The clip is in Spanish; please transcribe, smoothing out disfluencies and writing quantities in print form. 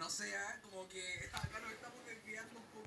No sé, como que acá nos estamos desviando un